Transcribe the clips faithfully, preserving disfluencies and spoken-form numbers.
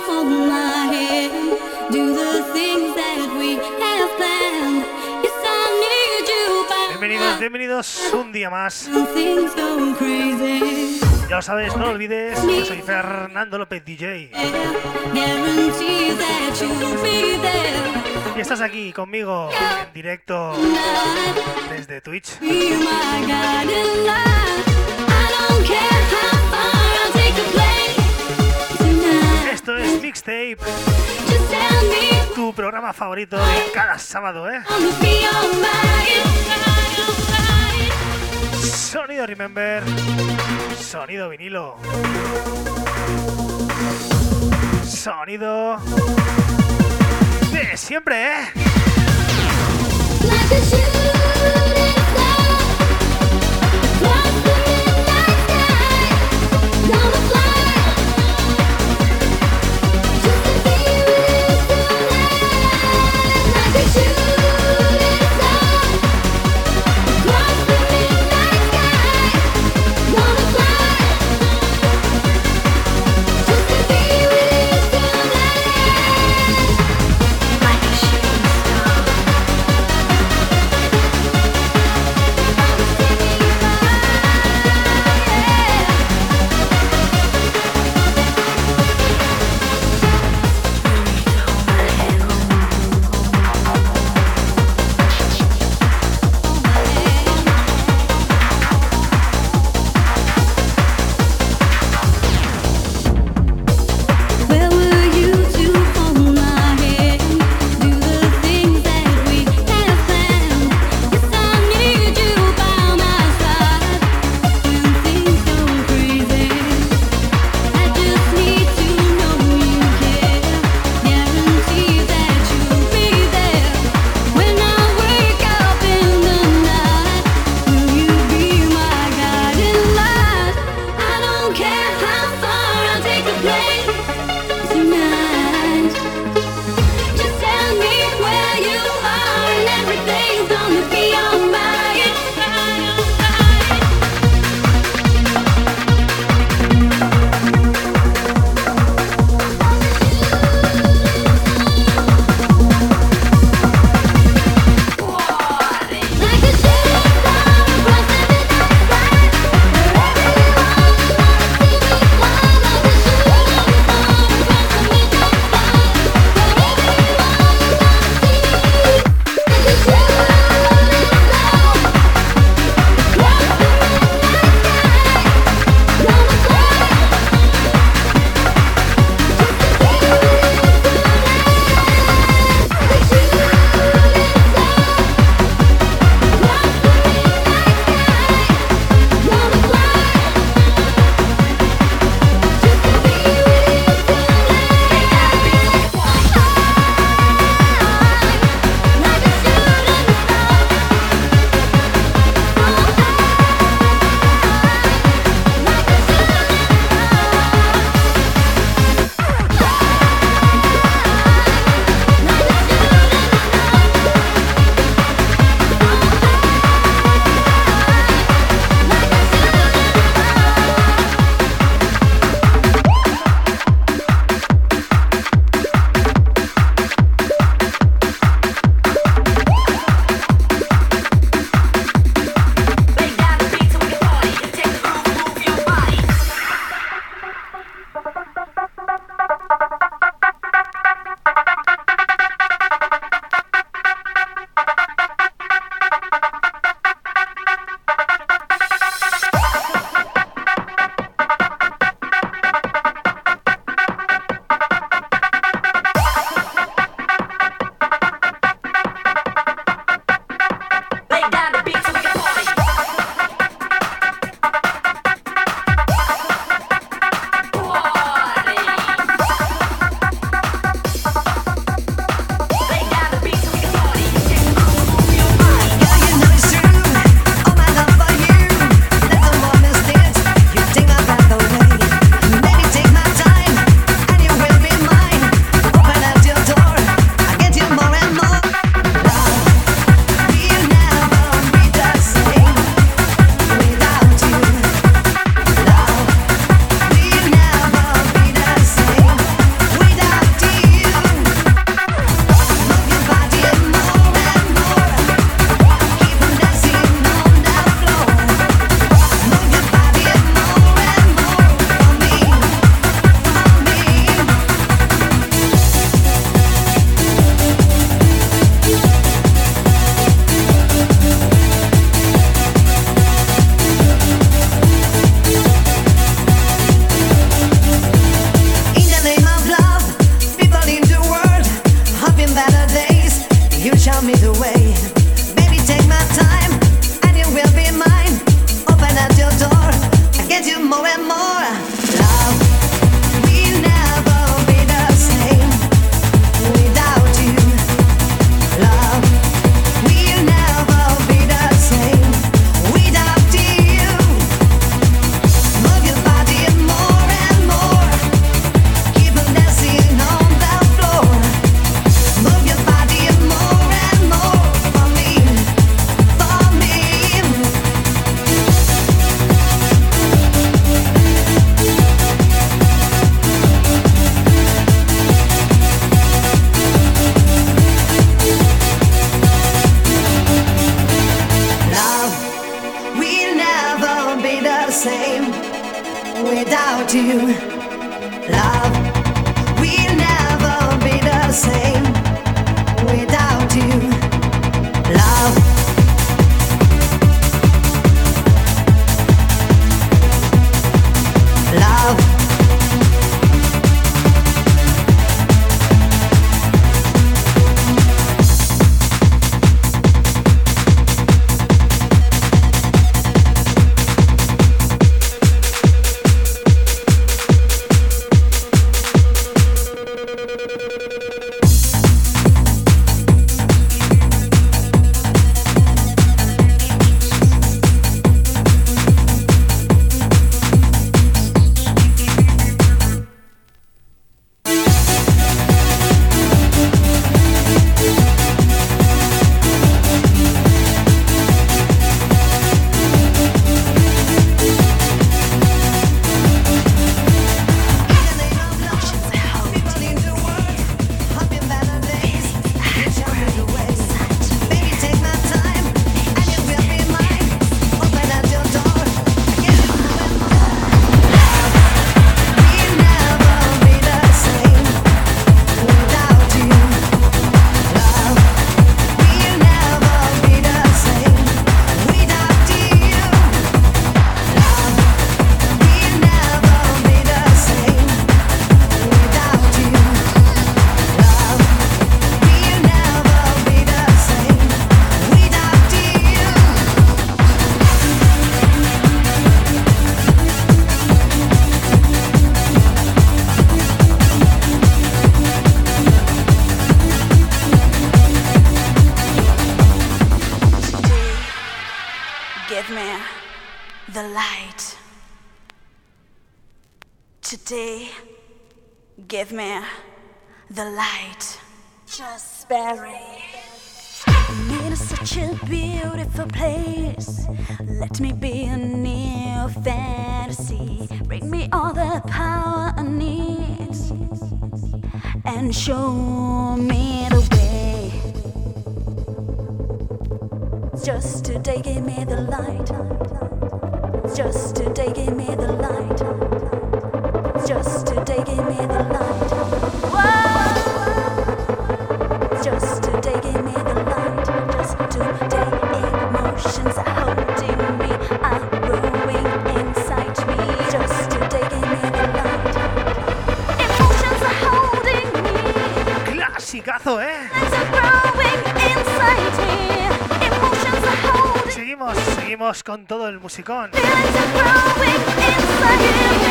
Bienvenidos, bienvenidos un día más. Ya lo sabes, no lo olvides, yo soy Fernando López D J. Y estás aquí conmigo en directo desde Twitch. Esto es Mixtape, tu programa favorito de cada sábado, ¿eh? Sonido Remember, sonido vinilo, sonido de siempre, ¿eh? Today, give me the light. Just spare it. It is such a beautiful place. Let me be a new fantasy. Bring me all the power I need and show me the way. Just today, give me the light. Just today, give me the light. Just today, give me the light. Whoa. Just today, give me the light. Just today, emotions are holding me, are growing inside me. Just today, give me the light. Emotions are holding me. Clasicazo, ¿eh? Are growing inside me. Emotions are holding. Seguimos, seguimos con todo el musicón. Feelings are growing inside me.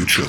future.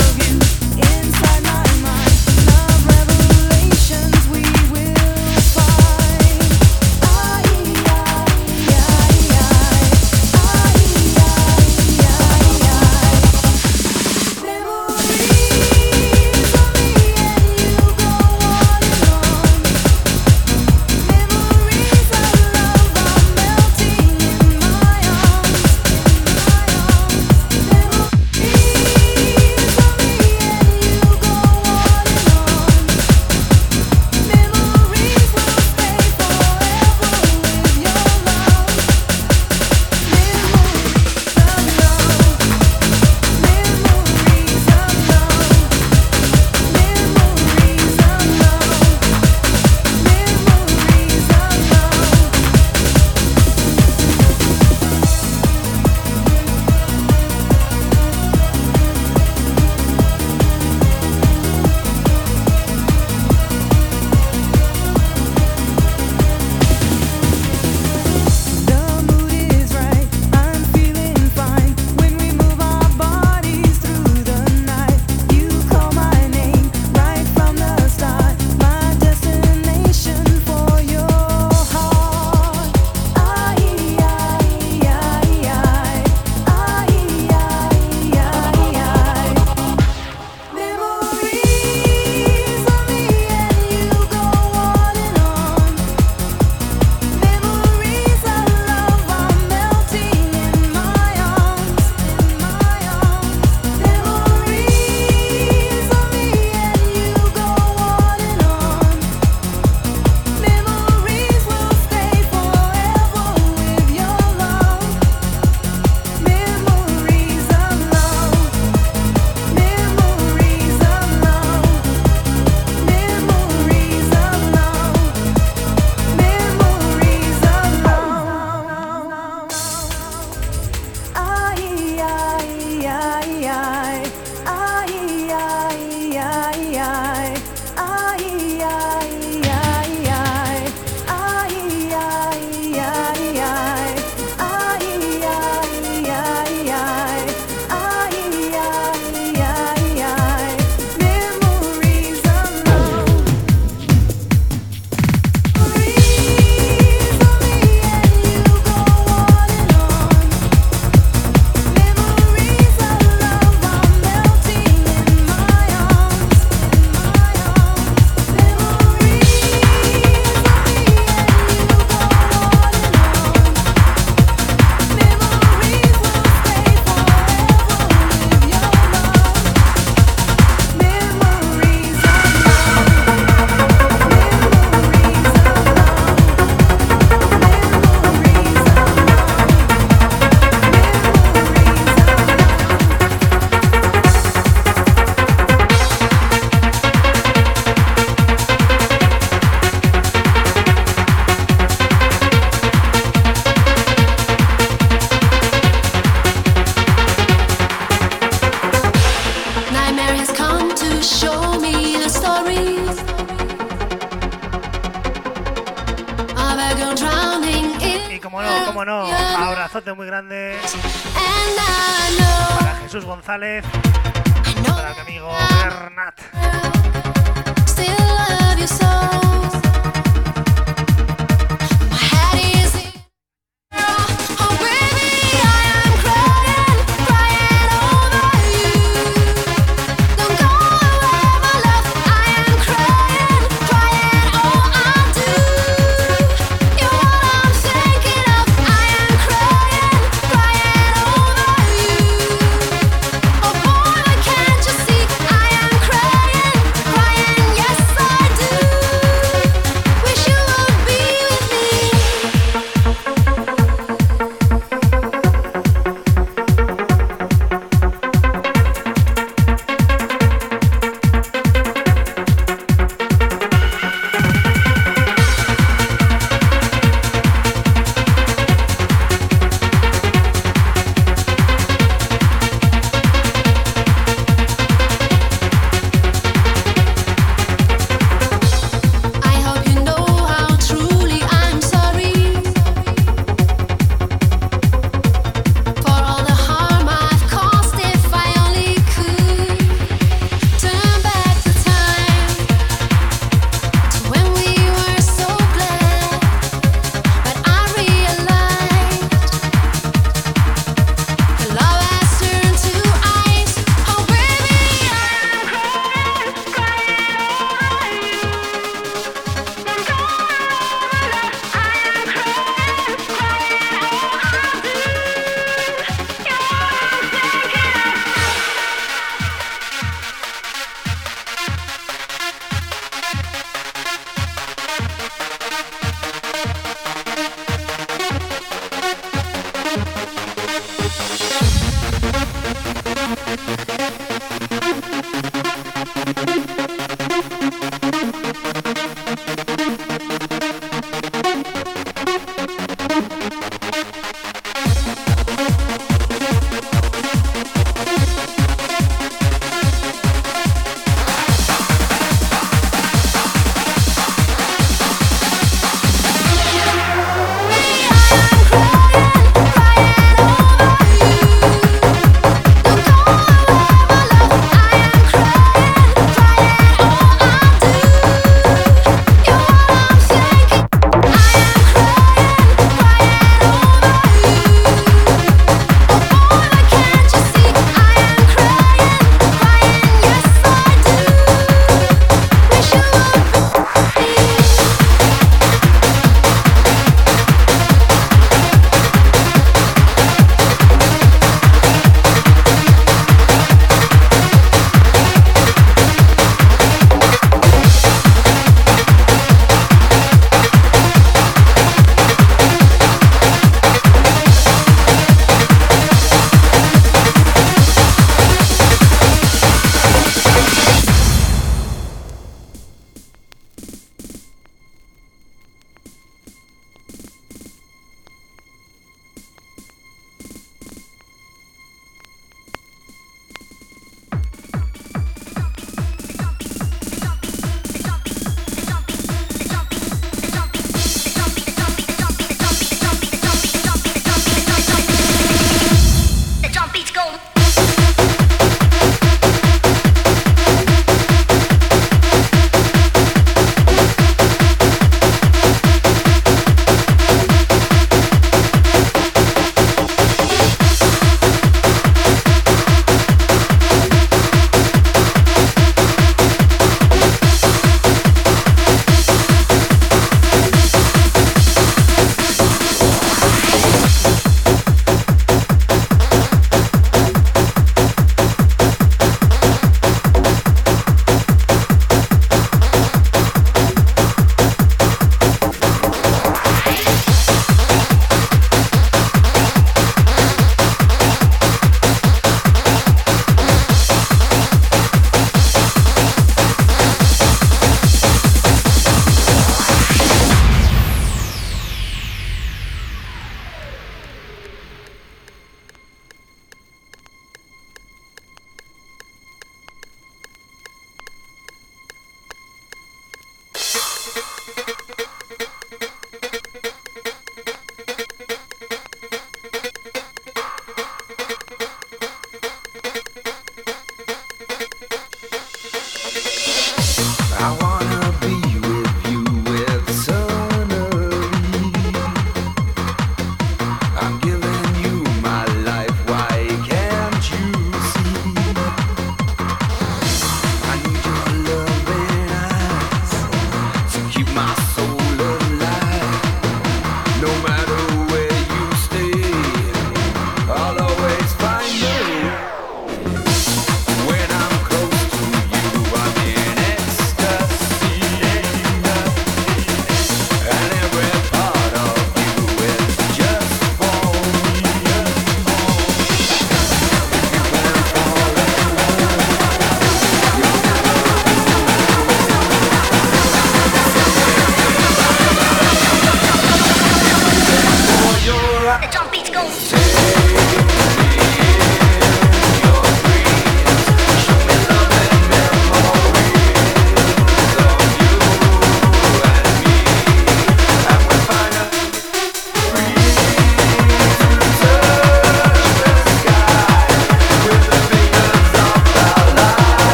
Inside my mind, love revelations we will find. stories of a girl drowning in. Y como no, como no, abrazote muy grande And I know, para Jesús González, I know para mi amigo Bernat. still love you so. My head is in. Oh baby, I am crying, crying over you. Don't go away, my love. I am crying, crying. Oh, I do. You're what I'm thinking of. I am crying, crying over you. Oh boy, why can't you see? I am crying, crying. Yes, I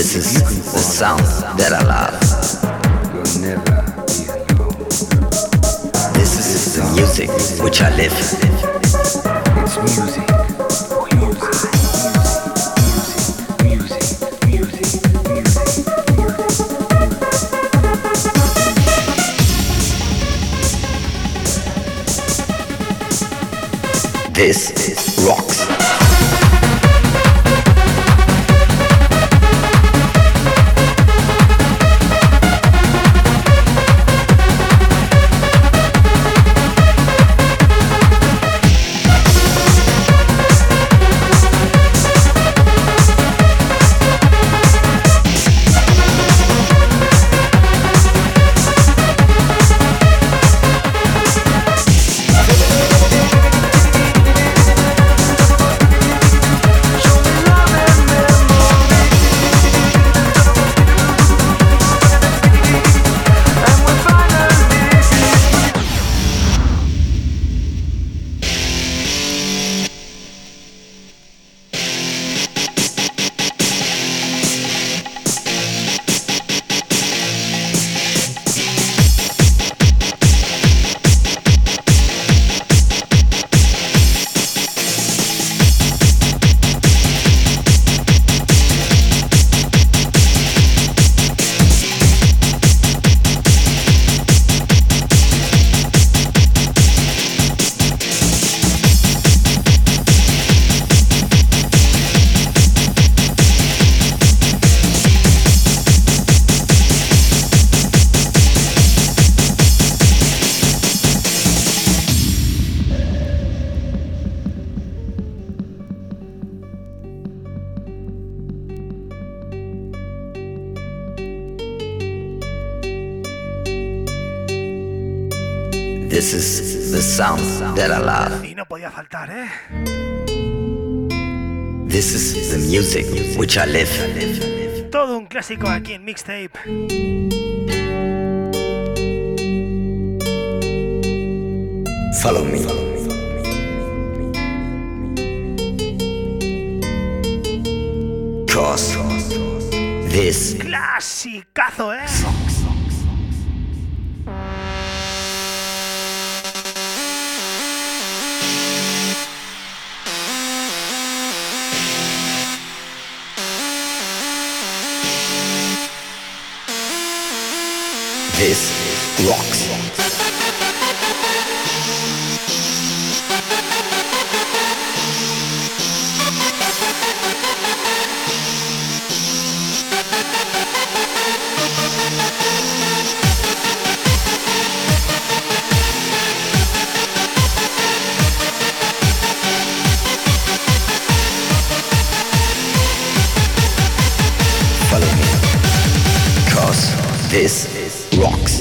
This is the sound that I love. You'll never be alone. This is the music which I live. It's music. This rocks. This is the sound that I love. Y no podía faltar, ¿eh? This is the music which I live. Todo un clásico aquí en Mixtape. Follow me. Cause this Clasicazo, ¿eh? This rocks. Follow me, cause this rocks.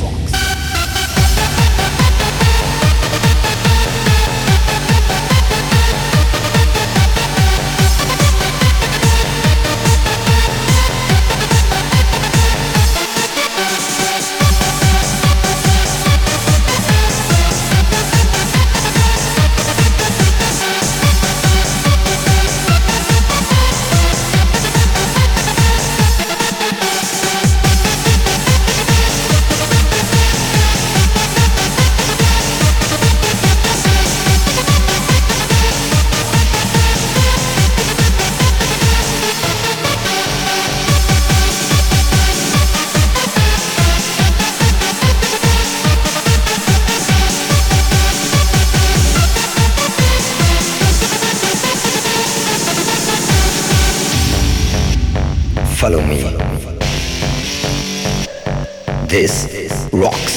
Follow me. This rocks.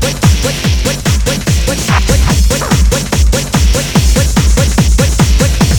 What?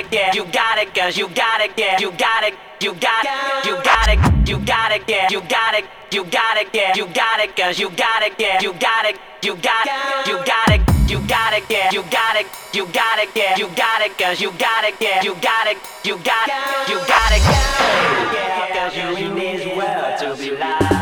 yeah, you got it, cause you got it, yeah, you got it, you got it, you got it, you got it, yeah, you got it, you got it, yeah, you got it, cause you got it, yeah, you got it, you got it, you got it, you got it, yeah, you got it, you got it, yeah, you got it, cause you got it, yeah, you got it, you got it, you got it, yeah, cause you need well to be live.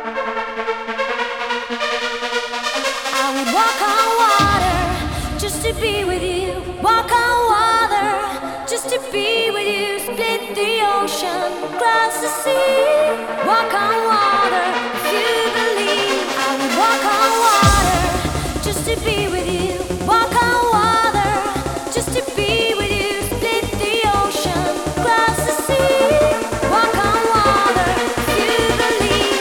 Just to be with you. Walk on water, just to be with you. Split the ocean, cross the sea. Walk on water, if you believe. I would walk on water, just to be with you. Walk on water, just to be with you. Split the ocean, cross the sea. Walk on water, if you believe.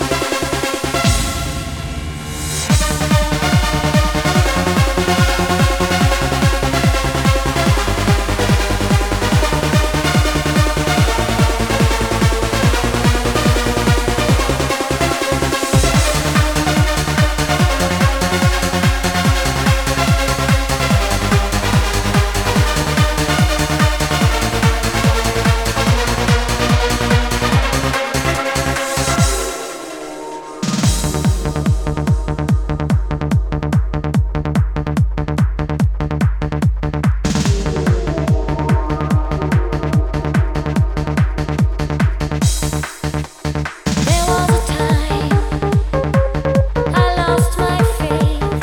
There was a time I lost my faith.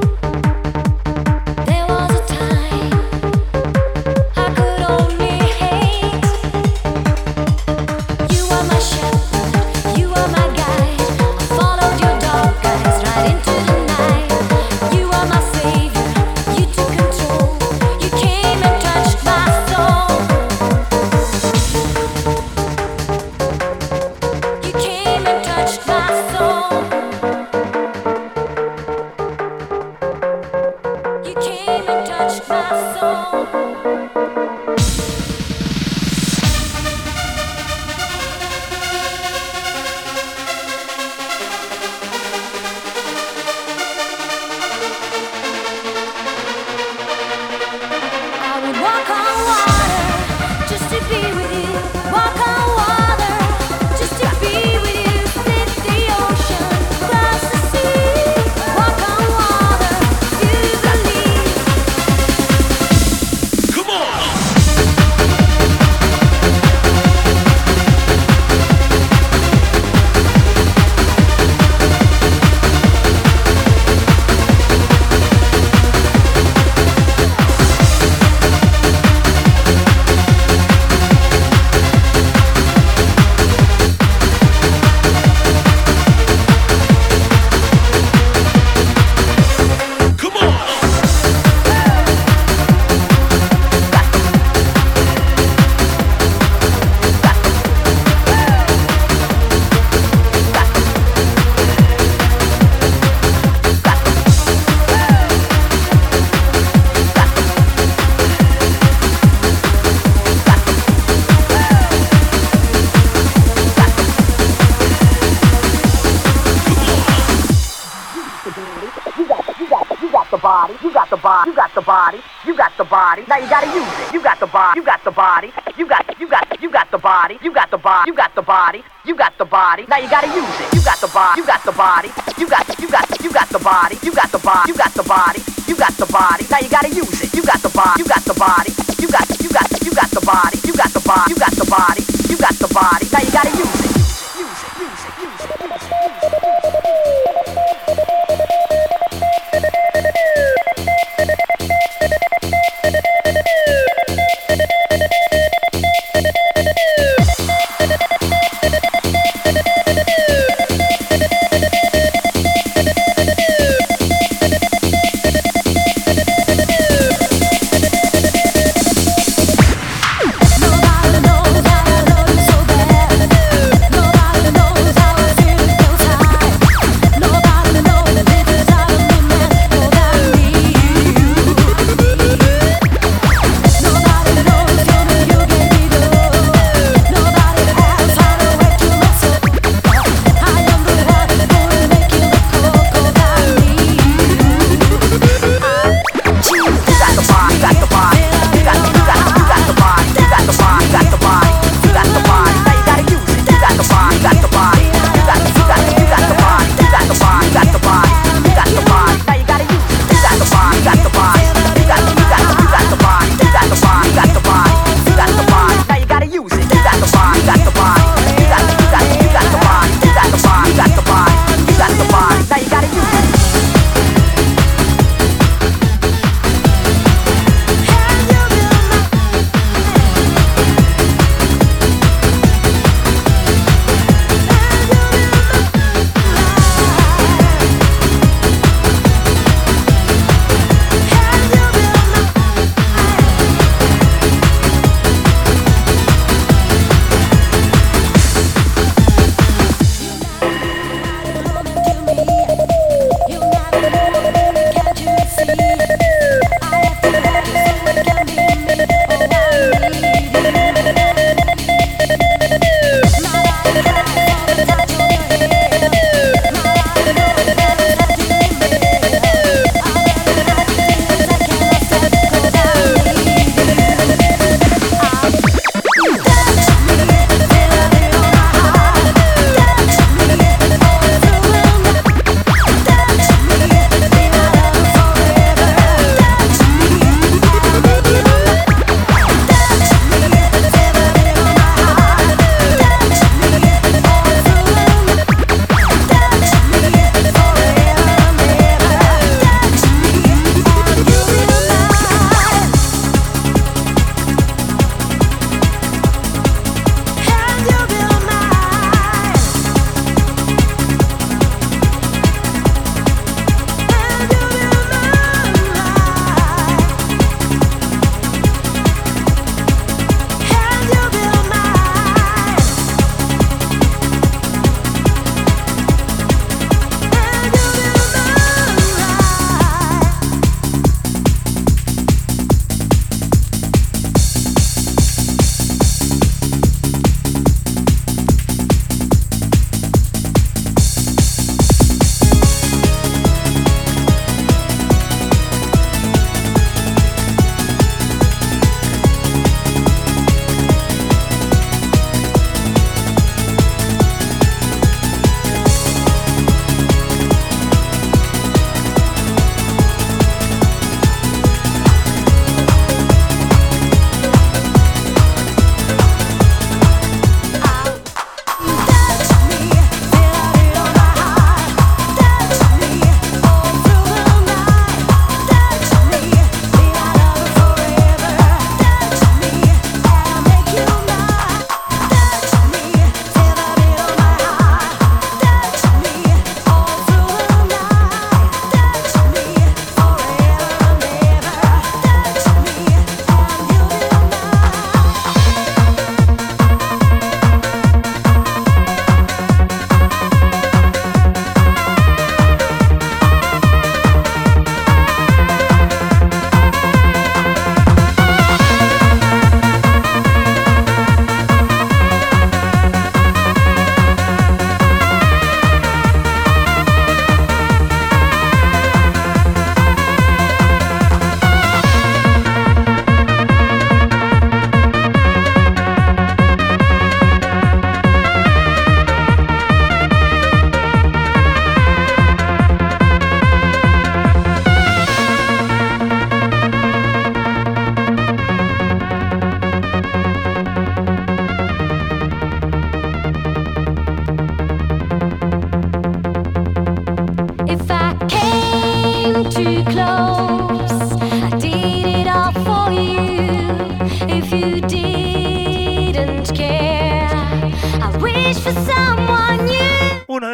There was a time I could only hate. You are my shepherd, you are my guide. I followed your dark eyes right into the night. You are my savior, you took control. You came and touched my soul. You came and touched my soul. You came and touched my soul. I would walk on water, just to be with you. Walk on water, just to be with you. Split the ocean, cross the sea. Walk on water, you believe. Come on! Come on! You got the body, you got the body, you got the body, you got the body. Now you gotta use it. You got the body, you got the body, you got, you got, you got the body, you got the body, you got the body, you got the body. Now you gotta use it. You got the body, you got the body, you got, you got, you got the body, you got the body, you got the body, you got the body. Now you gotta use it. You got the body, you got the body, you got, you got, you got the body, you got the body, you got the body, you got the body. Now you gotta use it. Use it, use it, use it, use it, use it. Nobody knows how to love you so bad.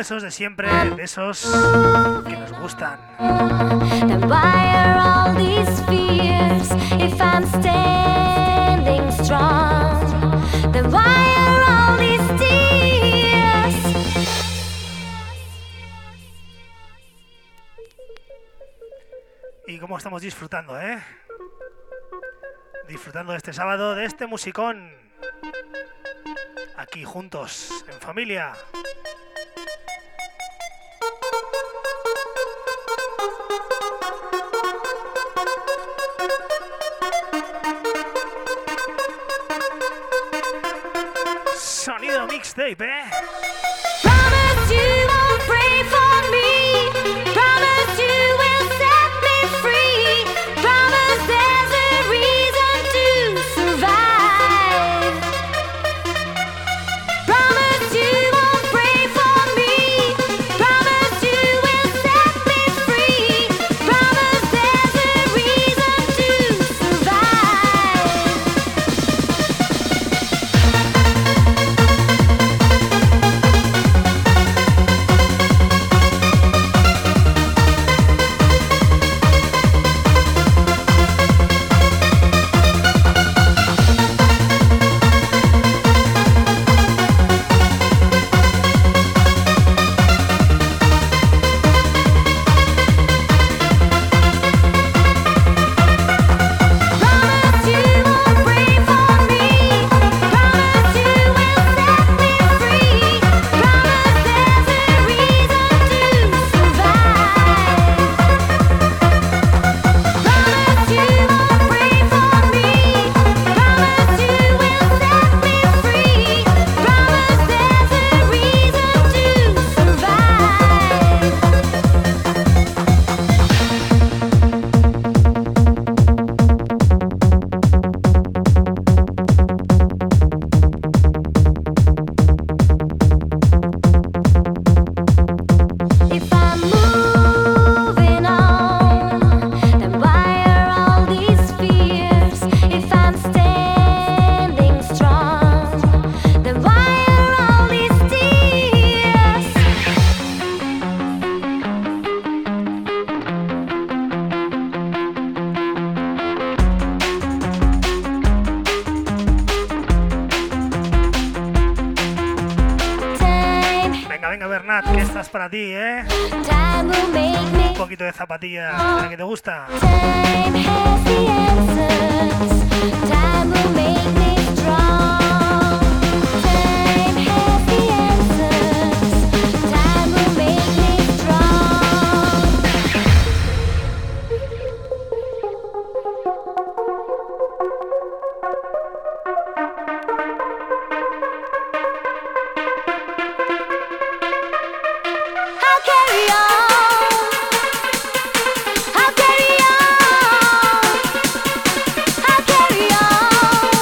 esos de siempre, de esos que nos gustan. Then why are all these fears if I'm standing strong? Then why are all these tears? Y cómo estamos disfrutando, ¿eh? Disfrutando de este sábado, de este musicón. Aquí juntos, en familia. Sonido mixtape, ¿eh? Promise you won't pray for me. Promise you will set me free. Promise there's a reason to survive. Promise you won't pray for me. Promise you will set me free. Promise there's a reason to survive. Promise you won't pray for me. Promise you will set me free. Promise there's a reason to survive. Promise you won't pray for me. Promise you will set me free. Promise there's a reason to If I'm moving on, then why are all these fears? If I'm standing strong, then why are all these tears? Time, Venga, venga, Bernat, que esta es para ti, ¿eh? time will make me. Un poquito de zapatilla, la que te gusta. Time has the answers. Time will make me strong. Time has the answers. Time will make me strong. I'll carry on. I'll carry on. I'll carry on.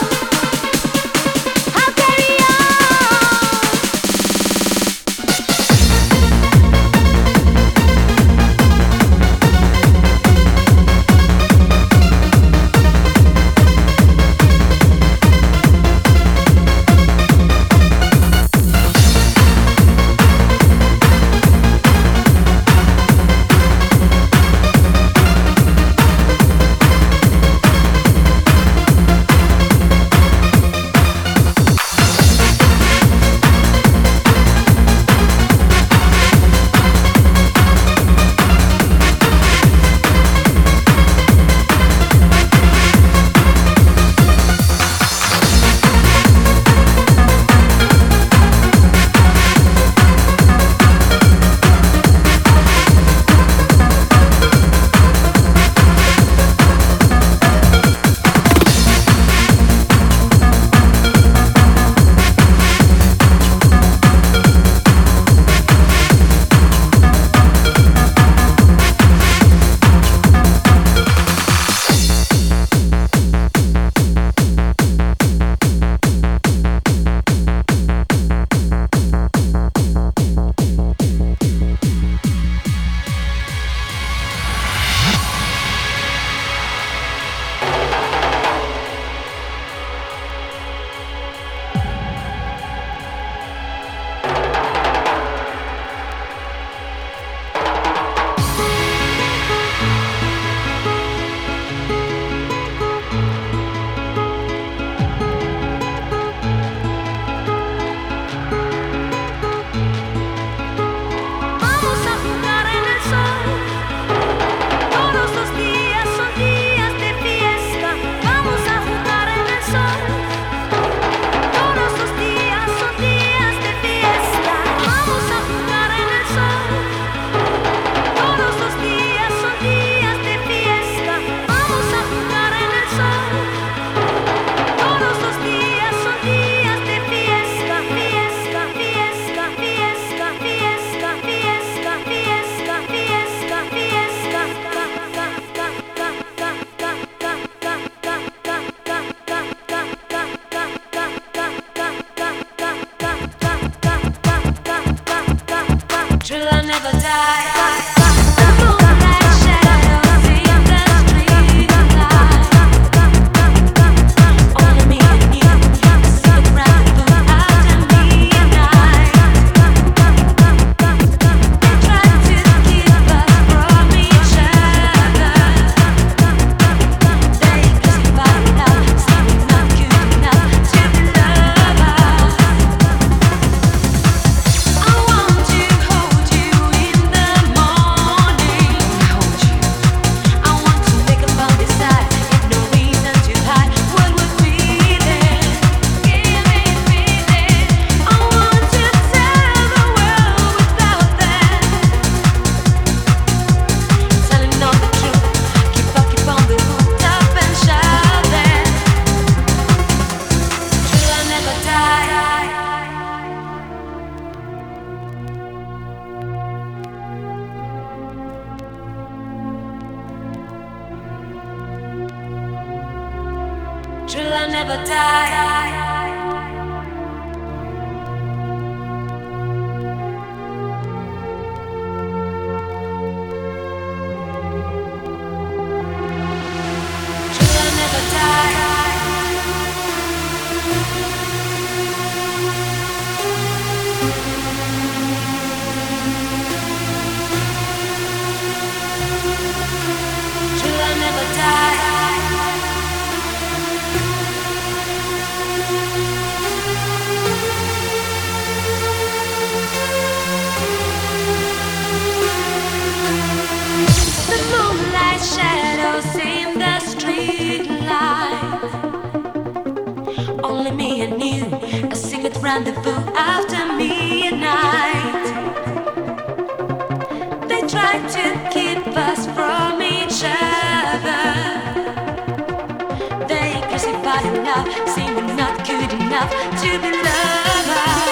True love never die. Rendezvous after midnight. They try to keep us from each other. They crucify love, say we're not good enough to be lovers.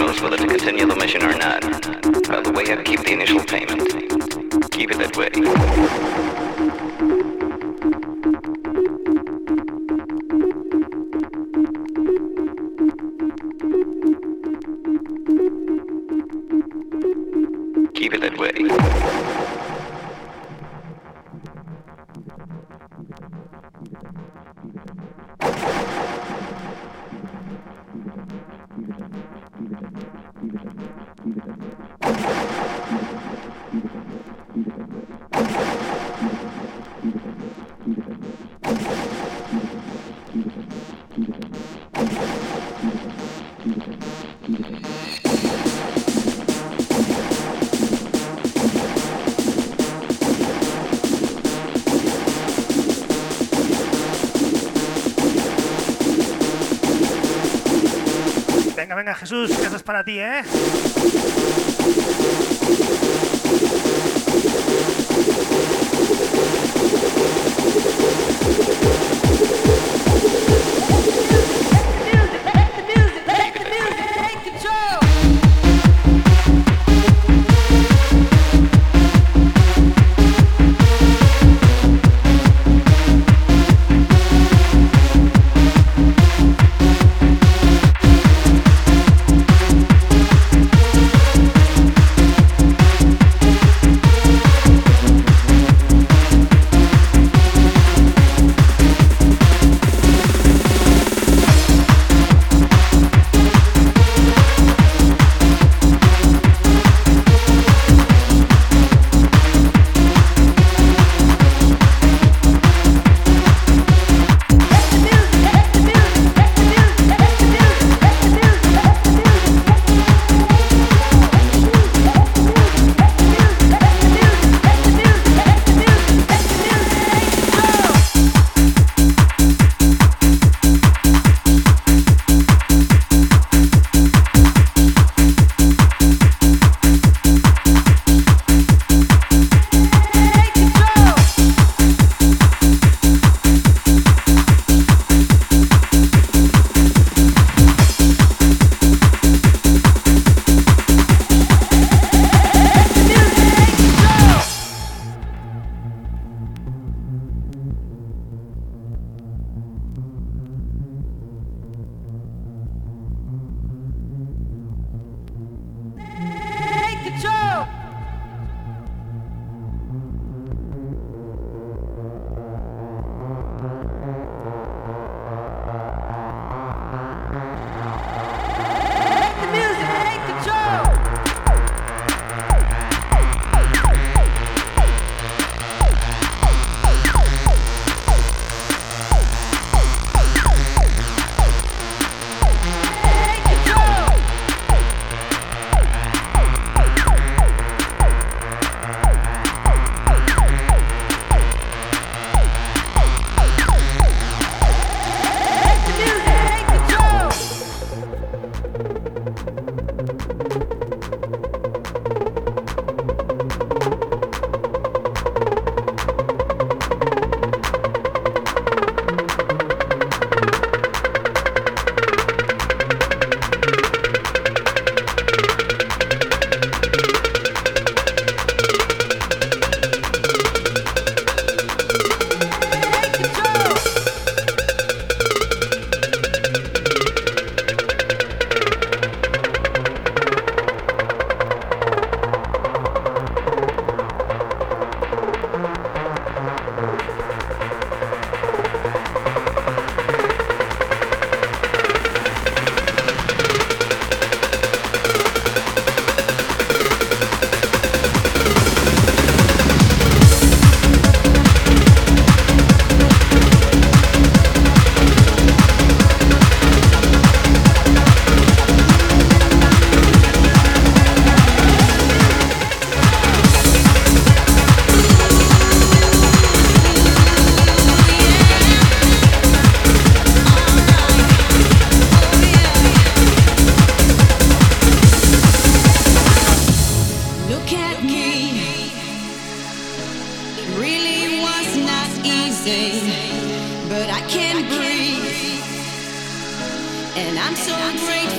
knows whether to continue the mission or not. By the way, I keep the initial payment. Keep it that way. Keep it that way. Venga, venga, Jesús, que eso es para ti, ¿eh? but I can't breathe. And I'm so grateful.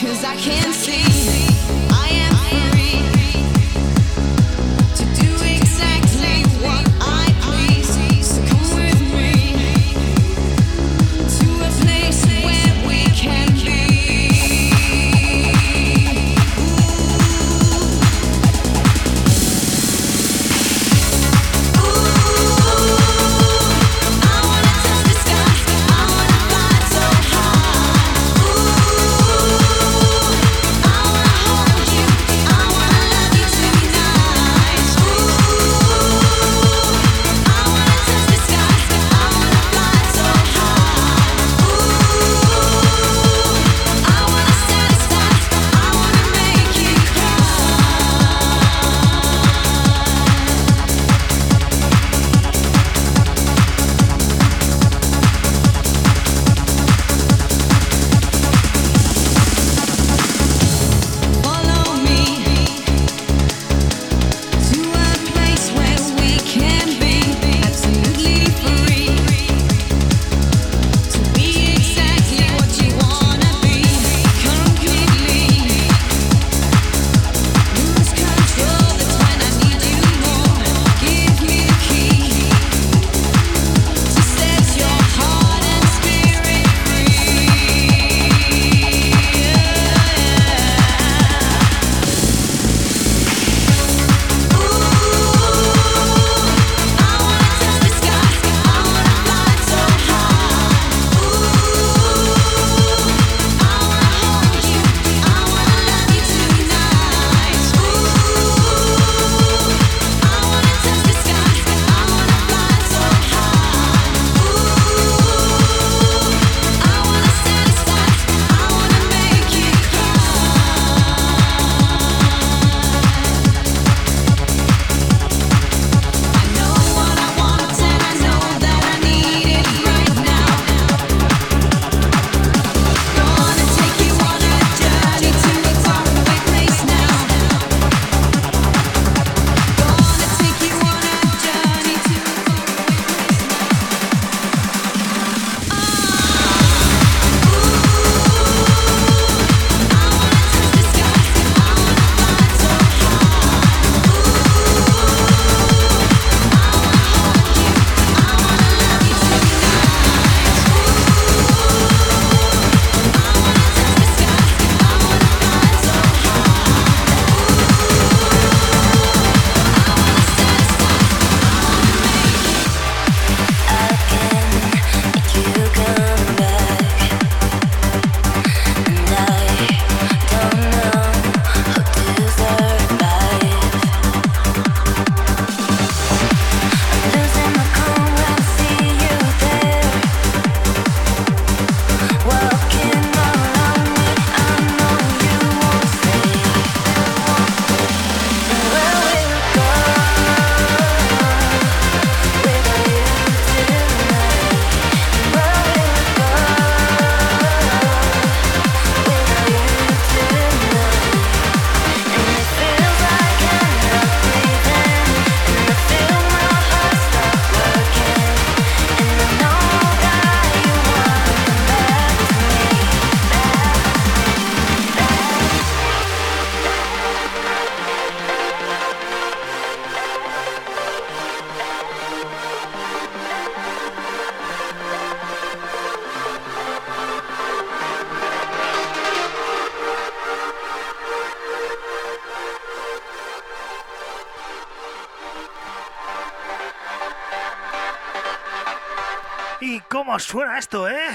¿Y cómo suena esto, eh?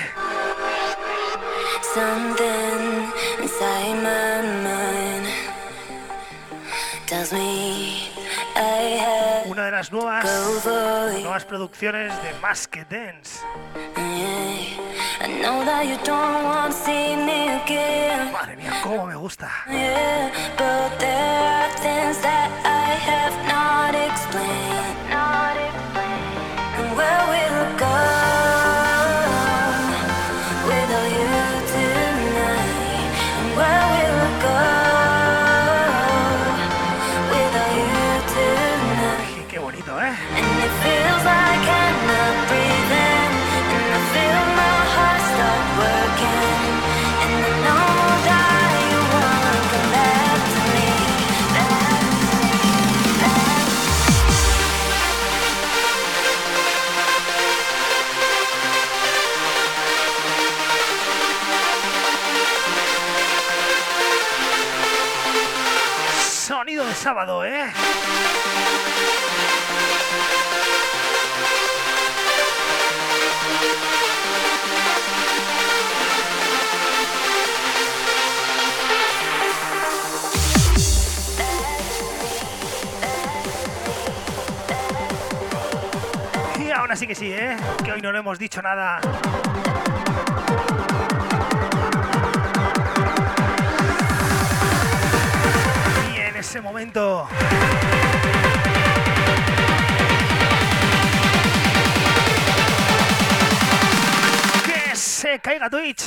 Something inside my mind tells me I have Una de las nuevas, go for it. nuevas producciones de Masked Dance. Yeah. I know that you don't want to see me again. Madre mía, cómo me gusta. Yeah, but there are things that I have not explained. Not explained. And where we'll go without you tonight. And where we'll go without you tonight. Y qué bonito, ¿eh? And it feels like I'm not breathing. And I feel my heart stop working. And I know that de sábado, ¿eh? Y ahora sí que sí, ¿eh? Que hoy no le hemos dicho nada. Ese momento que se caiga Twitch.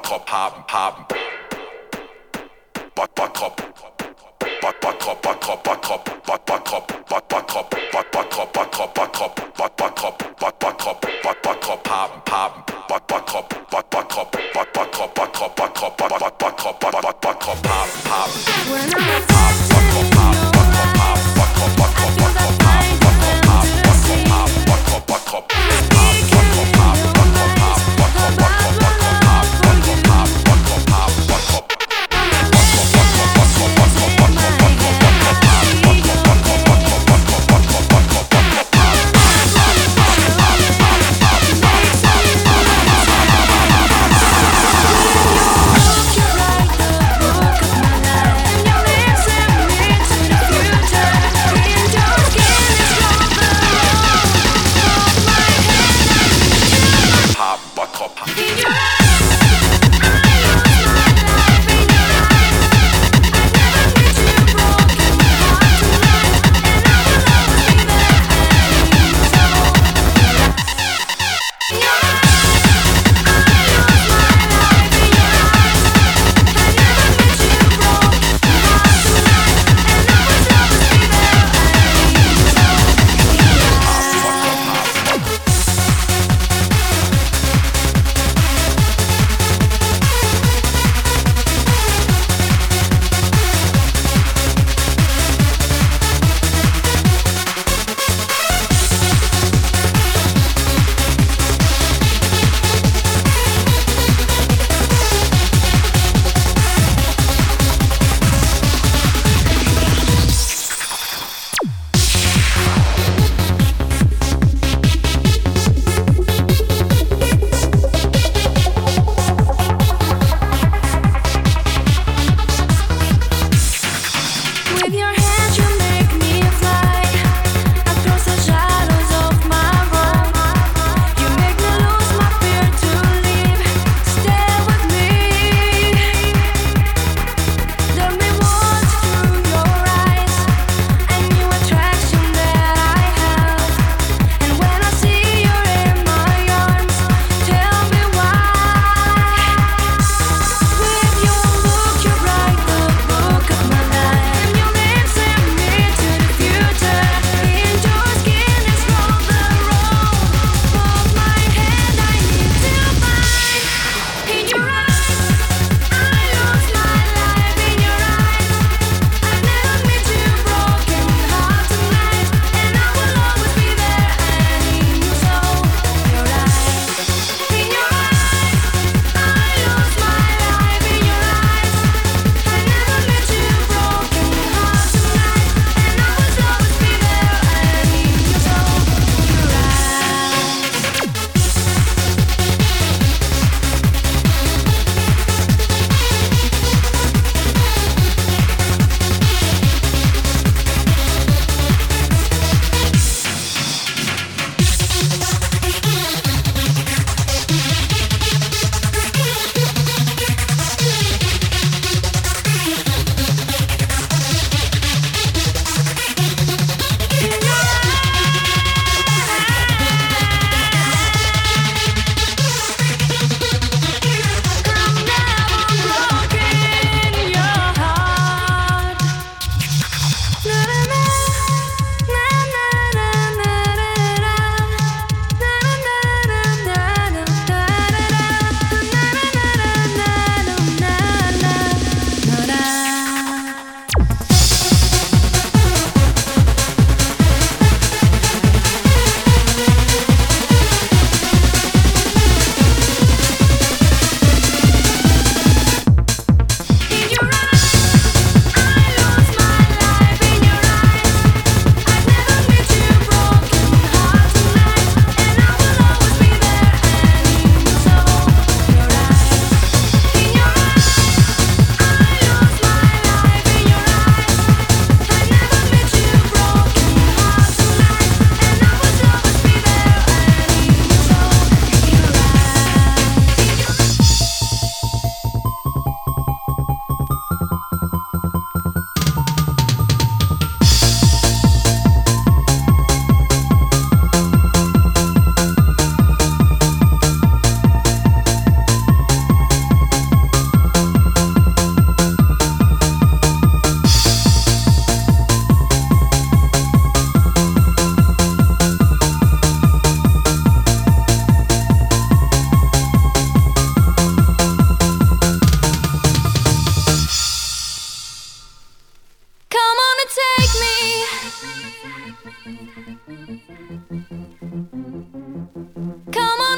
cup pop pop. Butt butt cup. Butt butt cup butt cup butt cup butt butt cup butt butt cup butt butt cup butt cup butt cup butt butt cup butt butt cup butt butt cup pop pop. Butt butt cup butt butt cup butt butt cup butt cup butt cup butt butt butt cup butt butt butt cup pop pop. When I'm a pop, butt cup pop, butt cup pop, butt cup butt cup butt cup pop, butt cup pop, butt cup pop, butt cup butt cup pop, butt cup pop, butt cup pop, butt cup butt cup butt cup pop, butt cup pop, butt cup pop, butt cup. Pop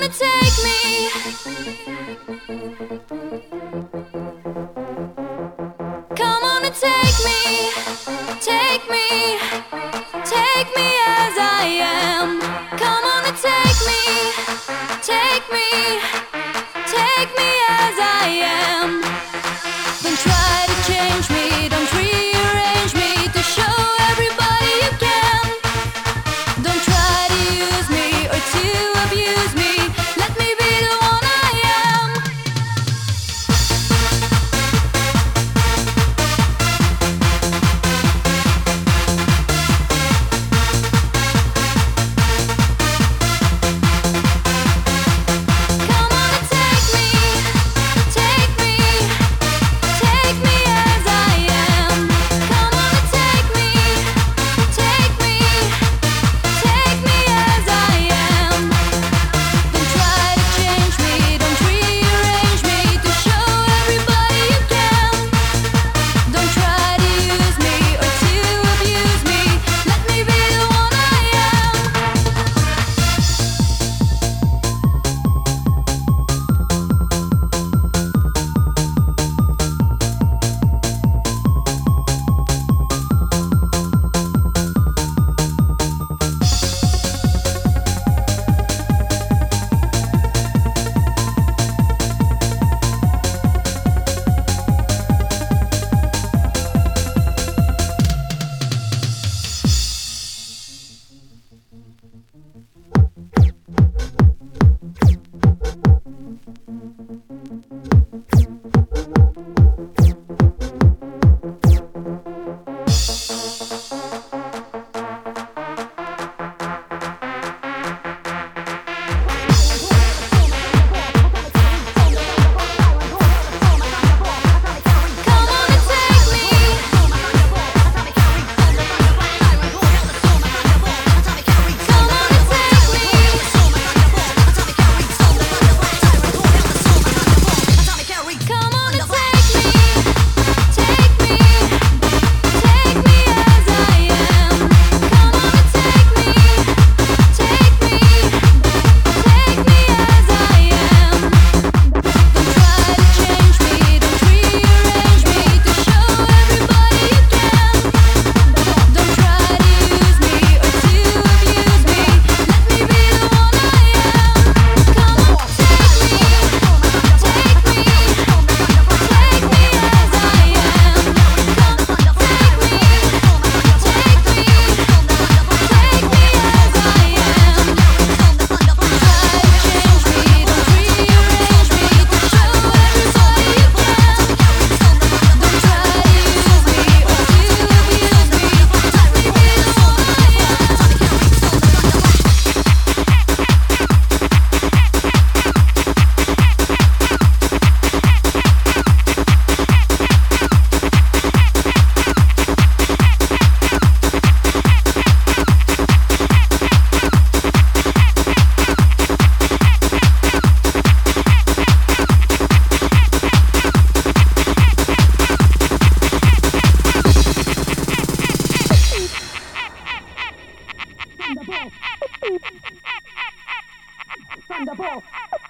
Thunderball.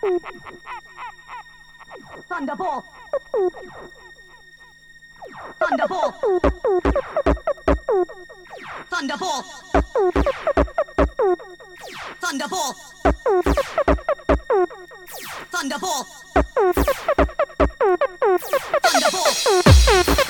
Thunderball. Thunderball. Thunderball. Thunderball. Thunderball. Thunderball.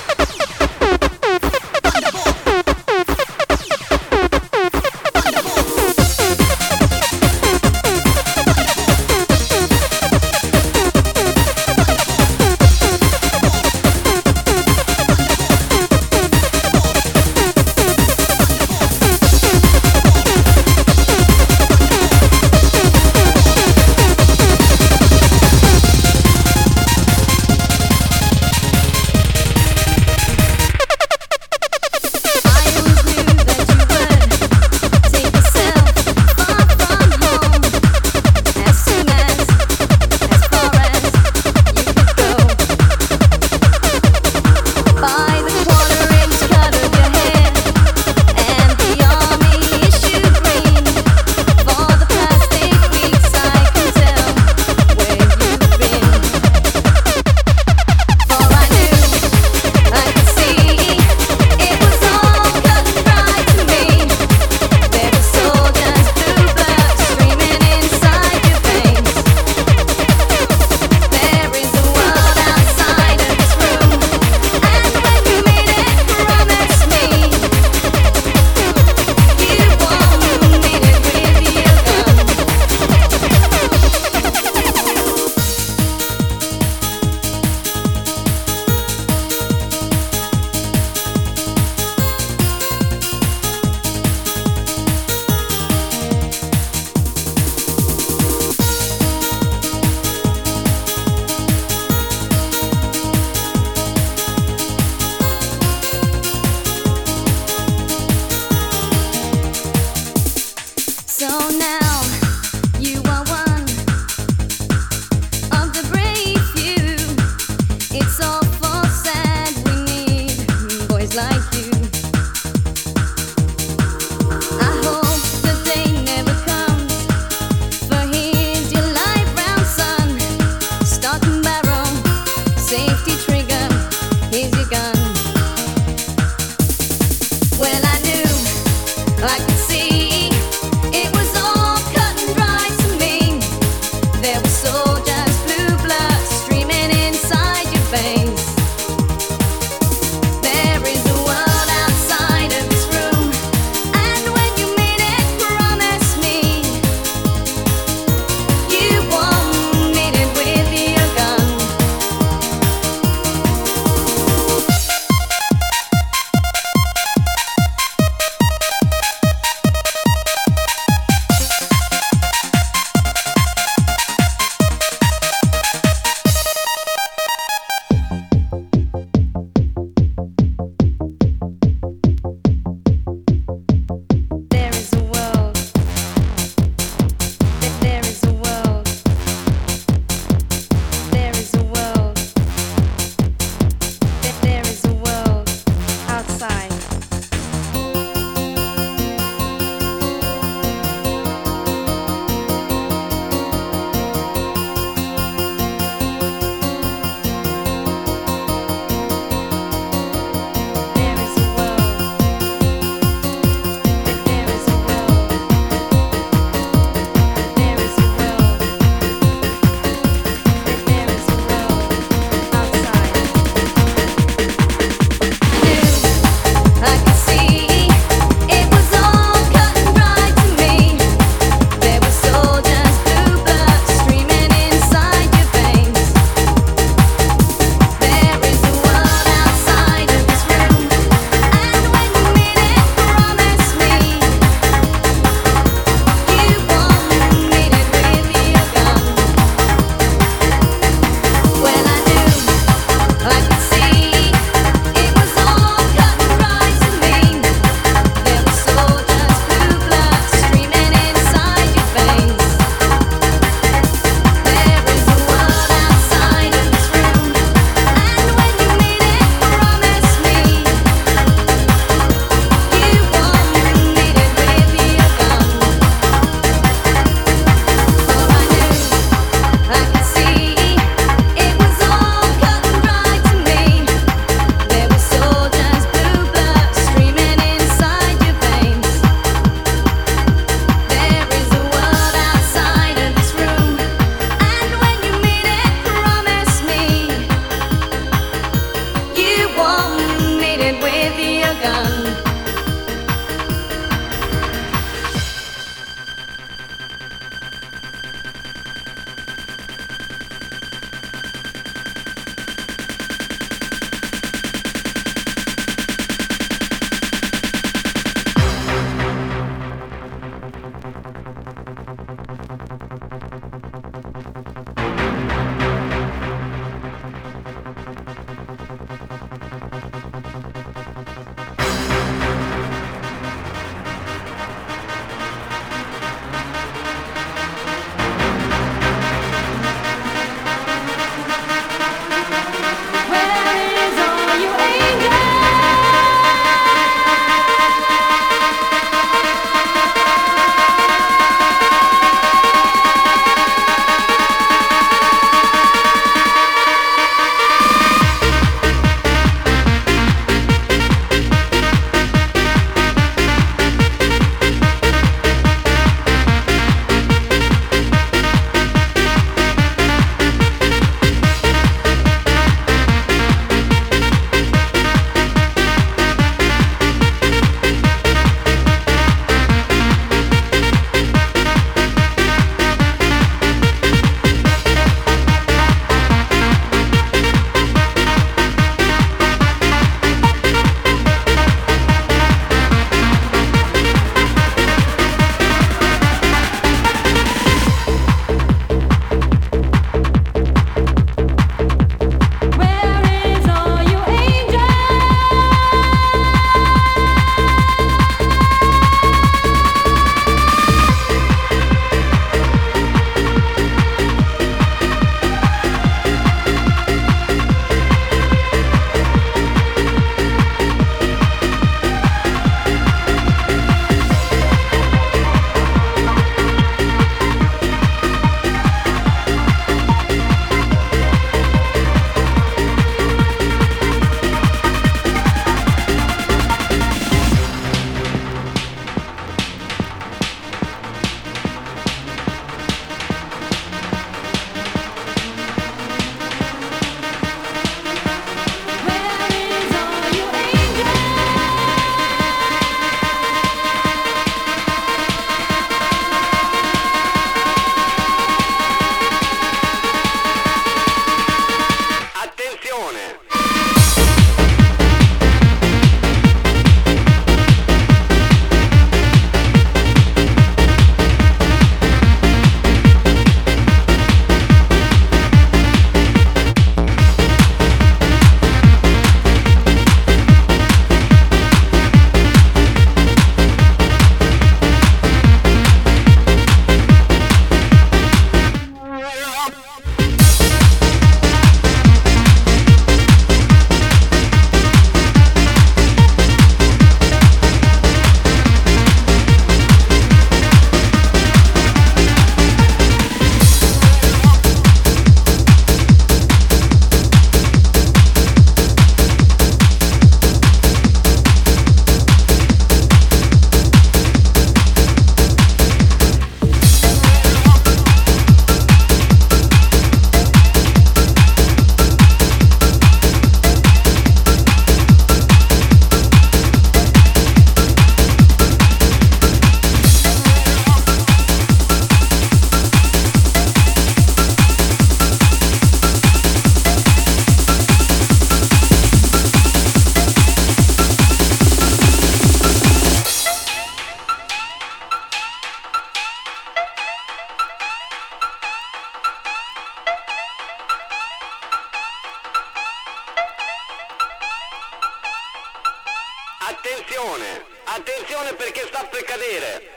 Attenzione, attenzione perché sta per cadere.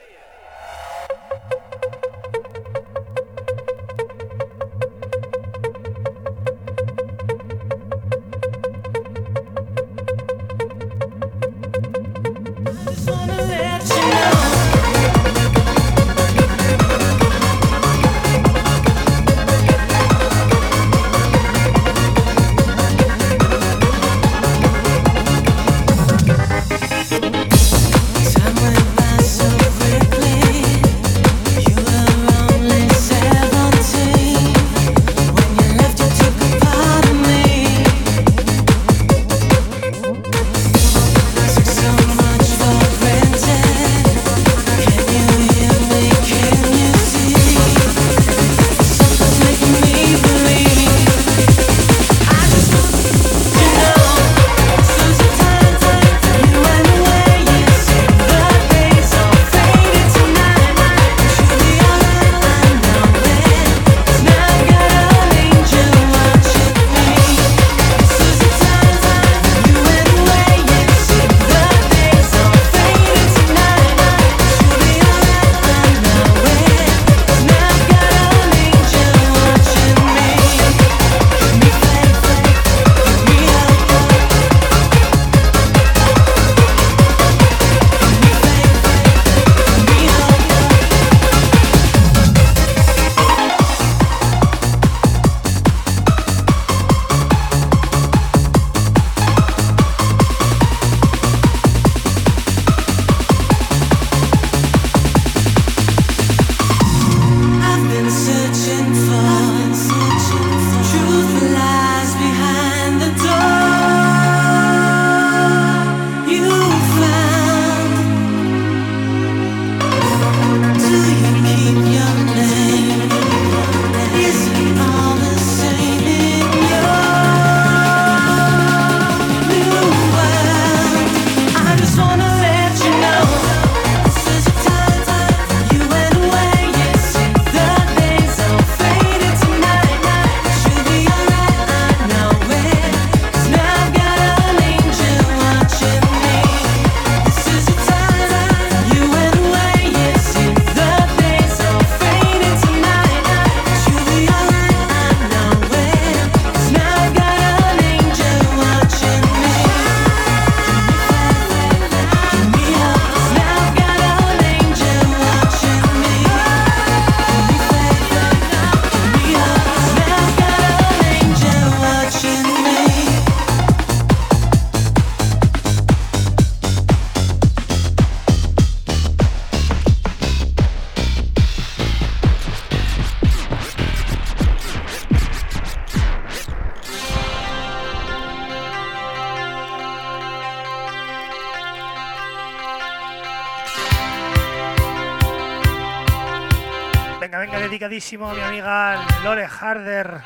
Dedicadísimo a mi amiga Lore Harder.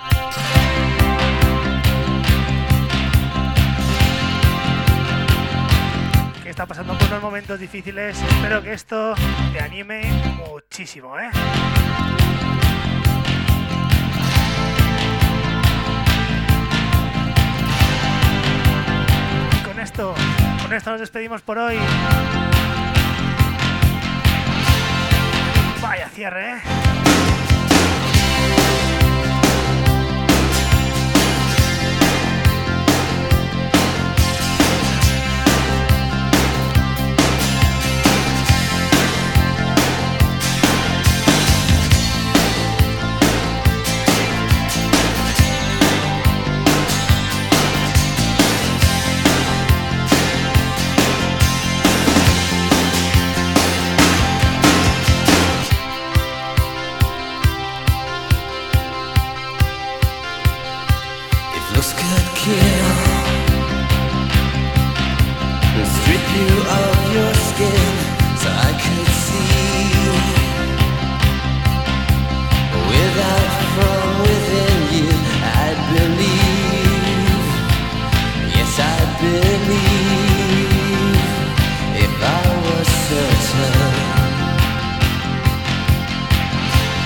Que está pasando por unos momentos difíciles. Espero que esto te anime muchísimo, ¿eh? Y con esto, con esto nos despedimos por hoy. Vaya cierre, ¿eh?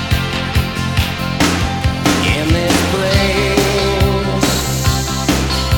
In this place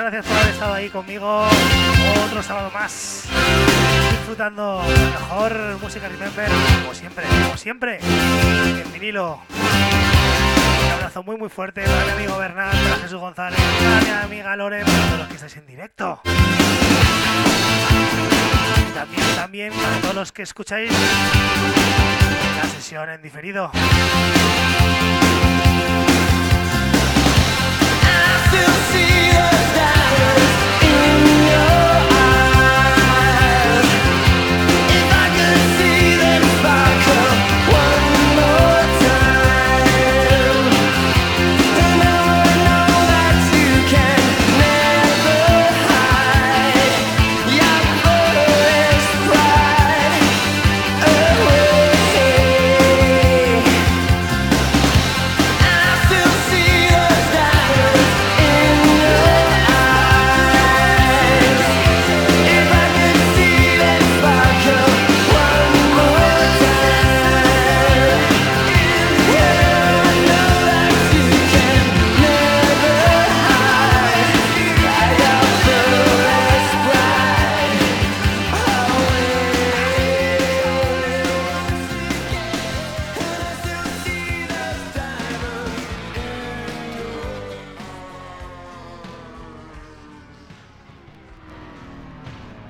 gracias por haber estado ahí conmigo otro sábado más, disfrutando de la mejor música Remember, como siempre, como siempre, en vinilo. Un abrazo muy muy fuerte para mi amigo Bernal, para Jesús González, para mi amiga Lore, para todos los que estáis en directo. Y también, también para todos los que escucháis la sesión en diferido.